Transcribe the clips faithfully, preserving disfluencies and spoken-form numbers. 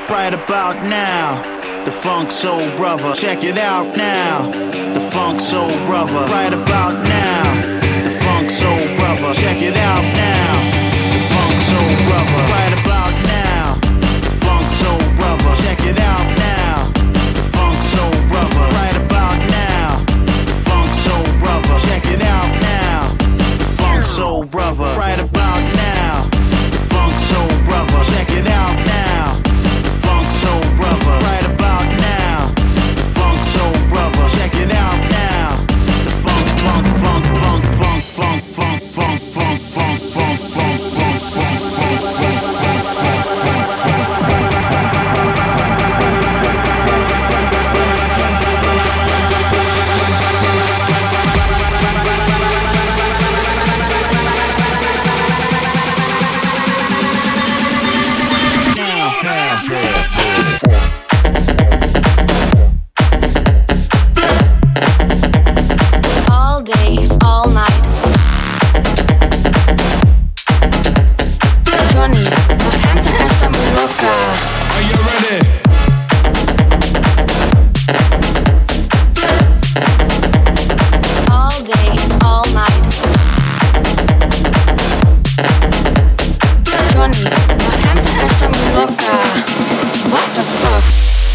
Right about now, the Funk Soul Brother. Check it out now, the Funk Soul Brother. Right about now, the Funk Soul Brother. Check it out now, the Funk Soul Brother. Right about now, the Funk Soul Brother. Check it out now, the Funk Soul Brother. Right about now, the Funk Soul Brother. Check it out now, the Funk Soul Brother. Right about now, the Funk Soul Brother. Check it out now, the Funk Soul Brother. Right about now, the Funk Soul Brother. Check it out now, the funk, funk, funk, funk, funk, funk, funk, funk, funk, funk, funk, funk, funk, funk, funk, All day, all night. Johnny, la gente está muy loca. Are you ready? All day, all night. Johnny, la gente está muy loca. What the fuck?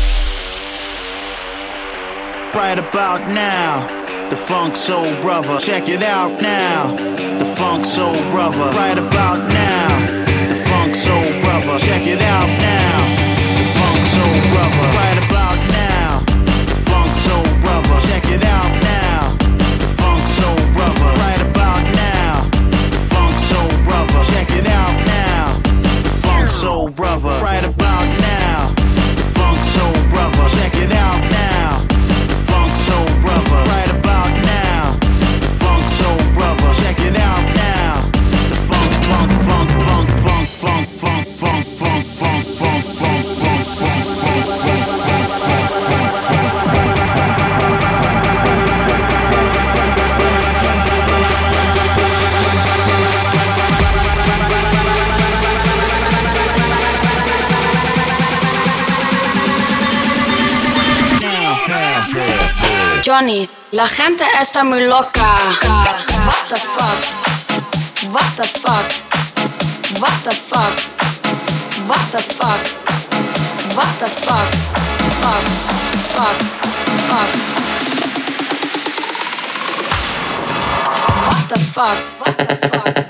right about now, the Funk Soul Brother. Check it out now, the Funk Soul Brother. Right about now, the Funk Soul Brother. Check it out now, the Funk Soul Brother. Right about now, the Funk Soul Brother. Check it out now, the Funk Soul Brother. Right about now, the Funk Soul Brother. Check it out now, the Funk Soul Brother. Right about now, the Funk Soul Brother. Check it out now, the Funk Soul Brother. Right about now, the Funk Soul Brother. Check it out now, the funk, funk, funk, funk, funk, funk, funk, funk, funk, funk, funk, funk, funk, funk, funk, Johnny, la gente está muy loca. What the fuck? What the fuck? What the fuck? What the fuck? What the fuck? Fuck, fuck, fuck. What the fuck? What the fuck?